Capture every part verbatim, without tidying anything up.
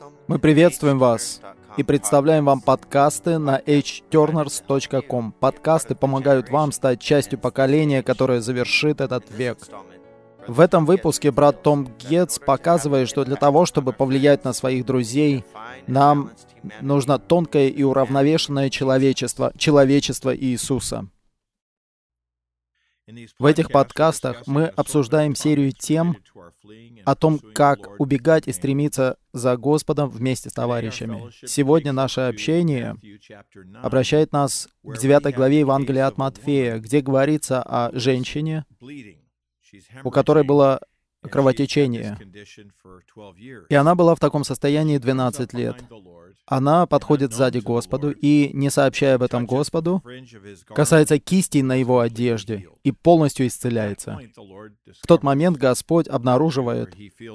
Мы приветствуем вас и представляем вам подкасты на эйч тернерс точка ком. Подкасты помогают вам стать частью поколения, которое завершит этот век. В этом выпуске брат Том Гетц показывает, что для того, чтобы повлиять на своих друзей, нам нужно тонкое и уравновешенное человечество, человечество Иисуса. В этих подкастах мы обсуждаем серию тем о том, как убегать и стремиться за Господом вместе с товарищами. Сегодня наше общение обращает нас к девятой главе Евангелия от Матфея, где говорится о женщине, у которой было кровотечение. И она была в таком состоянии двенадцать лет. Она подходит сзади к Господу и, не сообщая об этом Господу, касается кистей на его одежде и полностью исцеляется. В тот момент Господь обнаруживает,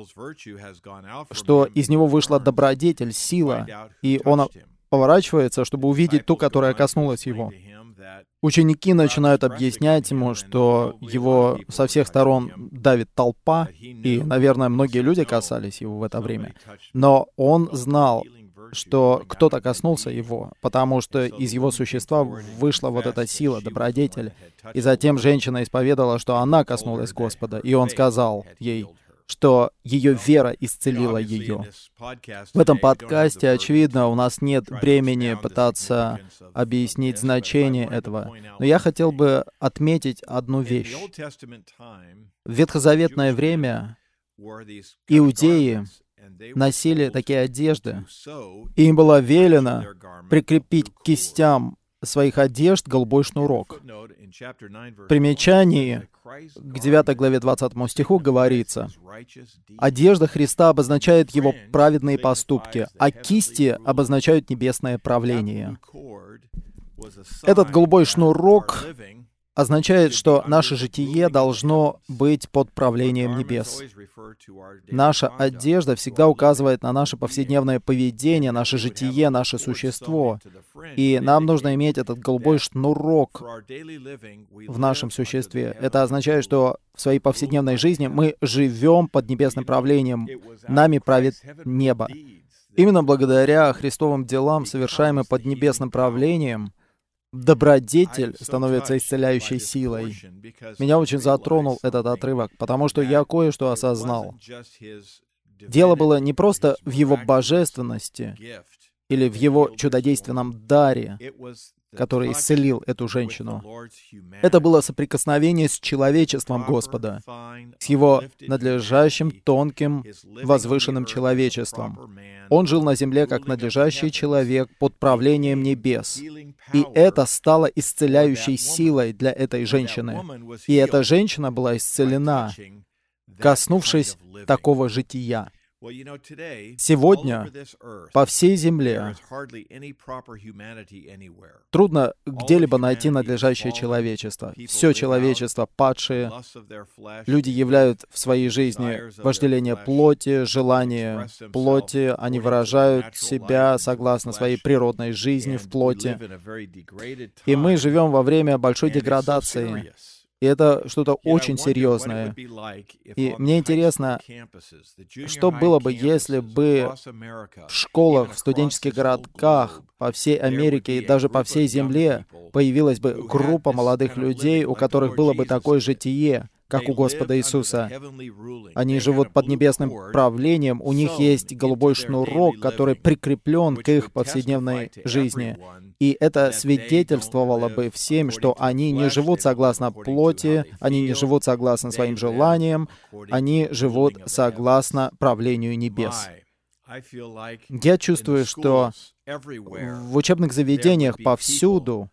что из него вышла добродетель, сила, и он поворачивается, чтобы увидеть ту, которая коснулась его. Ученики начинают объяснять ему, что его со всех сторон давит толпа, и, наверное, многие люди касались его в это время. Но он знал, что кто-то коснулся его, потому что из его существа вышла вот эта сила, добродетель. И затем женщина исповедала, что она коснулась Господа, и он сказал ей, что ее вера исцелила ее. В этом подкасте, очевидно, у нас нет времени пытаться объяснить значение этого, но я хотел бы отметить одну вещь. В ветхозаветное время иудеи носили такие одежды, и им было велено прикрепить к кистям своих одежд голубой шнурок. В примечании к девятой главе двадцатому стиху говорится: «Одежда Христа обозначает Его праведные поступки, а кисти обозначают небесное правление». Этот голубой шнурок означает, что наше житие должно быть под правлением небес. Наша одежда всегда указывает на наше повседневное поведение, наше житие, наше существо. И нам нужно иметь этот голубой шнурок в нашем существе. Это означает, что в своей повседневной жизни мы живем под небесным правлением. Нами правит небо. Именно благодаря Христовым делам, совершаемым под небесным правлением, добродетель становится исцеляющей силой. Меня очень затронул этот отрывок, потому что я кое-что осознал. Дело было не просто в его божественности или в его чудодейственном даре, который исцелил эту женщину. Это было соприкосновение с человечеством Господа, с его надлежащим, тонким, возвышенным человечеством. Он жил на земле как надлежащий человек под правлением небес. И это стало исцеляющей силой для этой женщины. И эта женщина была исцелена, коснувшись такого жития. Сегодня по всей земле трудно где-либо найти надлежащее человечество. Все человечество падшие. Люди являют в своей жизни вожделение плоти, желание плоти. Они выражают себя согласно своей природной жизни в плоти. И мы живем во время большой деградации. И это что-то очень серьезное. И мне интересно, что было бы, если бы в школах, в студенческих городках по всей Америке и даже по всей земле появилась бы группа молодых людей, у которых было бы такое житие, как у Господа Иисуса. Они живут под небесным правлением, у них есть голубой шнурок, который прикреплен к их повседневной жизни. И это свидетельствовало бы всем, что они не живут согласно плоти, они не живут согласно своим желаниям, они живут согласно правлению небес. Я чувствую, что в учебных заведениях повсюду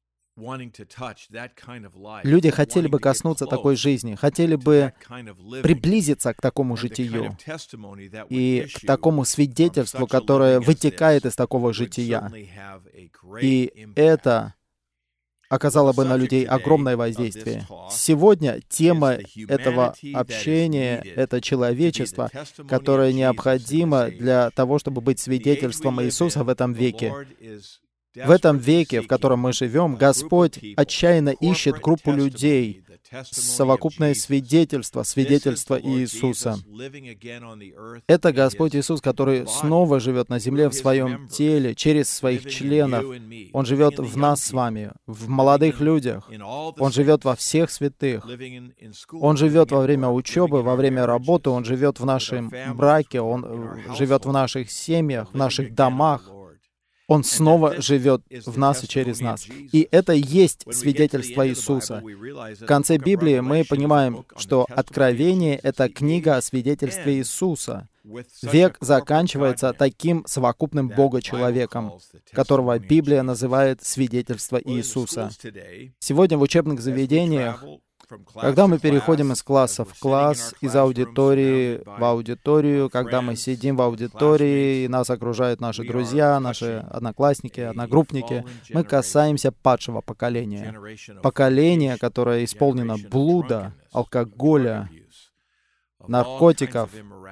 люди хотели бы коснуться такой жизни, хотели бы приблизиться к такому житию и к такому свидетельству, которое вытекает из такого жития. И это оказало бы на людей огромное воздействие. Сегодня тема этого общения — это человечество, которое необходимо для того, чтобы быть свидетельством Иисуса в этом веке. В этом веке, в котором мы живем, Господь отчаянно ищет группу людей, совокупное свидетельство, свидетельство Иисуса. Это Господь Иисус, который снова живет на земле в своем теле, через своих членов. Он живет в нас с вами, в молодых людях. Он живет во всех святых. Он живет во время учебы, во время работы, Он живет в нашем браке, Он живет в наших семьях, в наших домах. Он снова живет в нас и через нас. И это и есть свидетельство Иисуса. В конце Библии мы понимаем, что Откровение — это книга о свидетельстве Иисуса. Век заканчивается таким совокупным Бога-человеком, которого Библия называет свидетельство Иисуса. Сегодня в учебных заведениях, когда мы переходим из класса в класс, из аудитории в аудиторию, когда мы сидим в аудитории, и нас окружают наши друзья, наши одноклассники, одногруппники, мы касаемся падшего поколения. Поколения, которое исполнено блуда, алкоголя, наркотиков,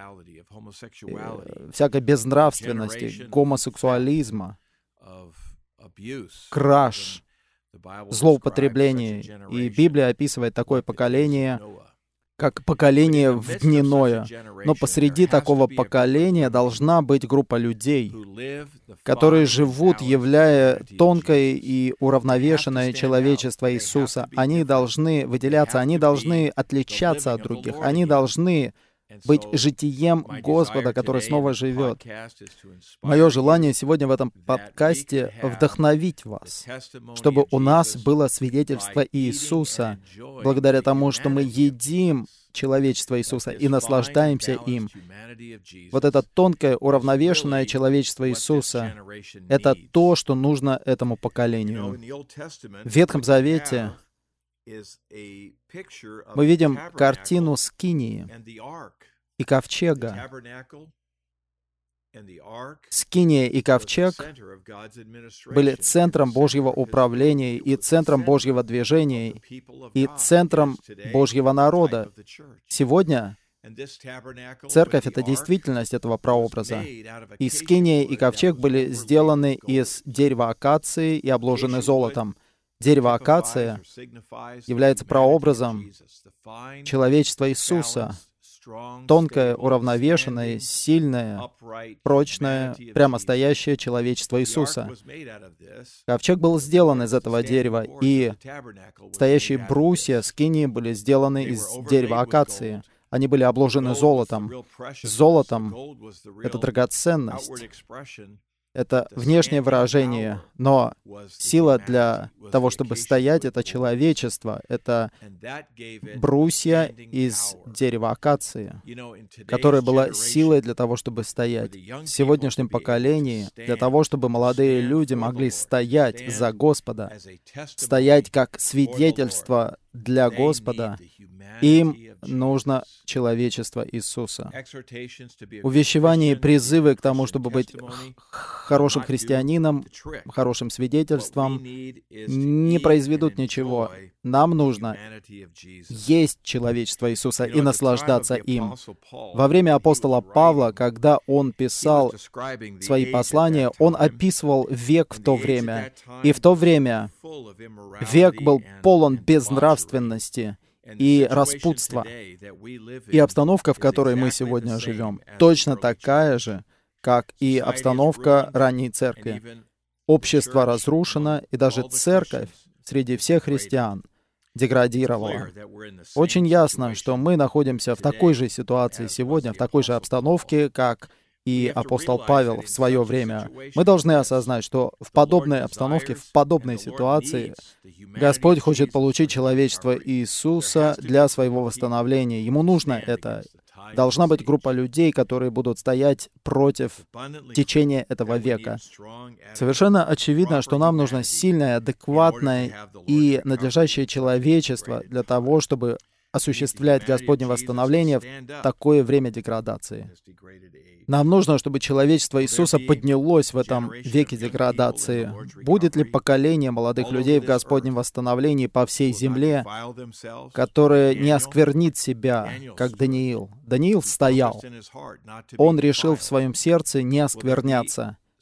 всякой безнравственности, гомосексуализма, краж, злоупотреблений. И Библия описывает такое поколение, как поколение в дни Ноя. Но посреди такого поколения должна быть группа людей, которые живут, являя тонкое и уравновешенное человечество Иисуса. Они должны выделяться, они должны отличаться от других, они должны быть житием Господа, который снова живет. Мое желание сегодня в этом подкасте вдохновить вас, чтобы у нас было свидетельство Иисуса, благодаря тому, что мы едим человечество Иисуса и наслаждаемся им. Вот это тонкое, уравновешенное человечество Иисуса — это то, что нужно этому поколению. В Ветхом Завете мы видим картину Скинии и Ковчега. Скиния и Ковчег были центром Божьего управления и центром Божьего движения и центром Божьего народа. Сегодня Церковь — это действительность этого прообраза. И Скиния и Ковчег были сделаны из дерева акации и обложены золотом. Дерево акация является прообразом человечества Иисуса. Тонкое, уравновешенное, сильное, прочное, прямостоящее человечество Иисуса. Ковчег был сделан из этого дерева, и стоящие брусья скинии были сделаны из дерева акации. Они были обложены золотом. Золотом — это драгоценность. Это внешнее выражение, но сила для того, чтобы стоять, это человечество, это брусья из дерева акации, которая была силой для того, чтобы стоять. В сегодняшнем поколении, для того, чтобы молодые люди могли стоять за Господа, стоять как свидетельство для Господа, им нужно человечество Иисуса. Увещевания и призывы к тому, чтобы быть хорошим христианином, хорошим свидетельством, не произведут ничего. Нам нужно есть человечество Иисуса и наслаждаться им. Во время апостола Павла, когда он писал свои послания, он описывал век в то время. И в то время век был полон безнравственности и распутства. И обстановка, в которой мы сегодня живем, точно такая же, как и обстановка ранней церкви. Общество разрушено, и даже церковь среди всех христиан деградировала. Очень ясно, что мы находимся в такой же ситуации сегодня, в такой же обстановке, как и апостол Павел в свое время. Мы должны осознать, что в подобной обстановке, в подобной ситуации Господь хочет получить человечество Иисуса для своего восстановления. Ему нужно это. Должна быть группа людей, которые будут стоять против течения этого века. Совершенно очевидно, что нам нужно сильное, адекватное и надлежащее человечество для того, чтобы осуществлять Господне восстановление в такое время деградации. Нам нужно, чтобы человечество Иисуса поднялось в этом веке деградации. Будет ли поколение молодых людей в Господнем восстановлении по всей земле, которое не осквернит себя, как Даниил? Даниил стоял. Он решил в своем сердце не оскверняться.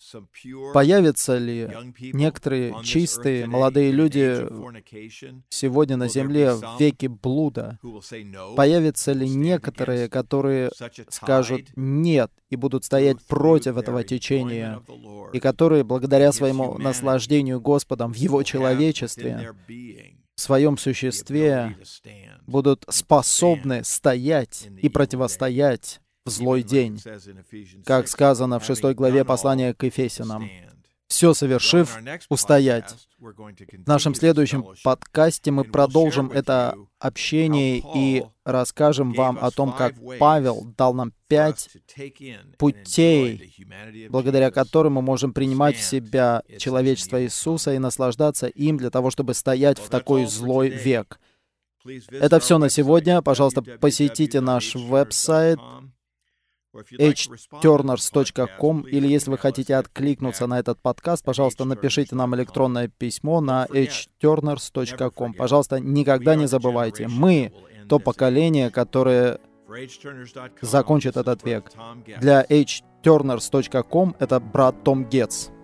Появятся ли некоторые чистые молодые люди сегодня на земле в веке блуда? Появятся ли некоторые, которые скажут «нет» и будут стоять против этого течения, и которые, благодаря своему наслаждению Господом в Его человечестве, в своем существе, будут способны стоять и противостоять в злой день, как сказано в шестой главе послания к Ефесянам. «Все совершив, устоять». В нашем следующем подкасте мы продолжим это общение и расскажем вам о том, как Павел дал нам пять путей, благодаря которым мы можем принимать в себя человечество Иисуса и наслаждаться им для того, чтобы стоять в такой злой век. Это все на сегодня. Пожалуйста, посетите наш веб-сайт эйч тернерс точка ком, или если вы хотите откликнуться на этот подкаст, пожалуйста, напишите нам электронное письмо на эйч тернерс точка ком. Пожалуйста, никогда не забывайте, мы то поколение, которое закончит этот век. Для эйч тернерс точка ком это брат Том Гетц.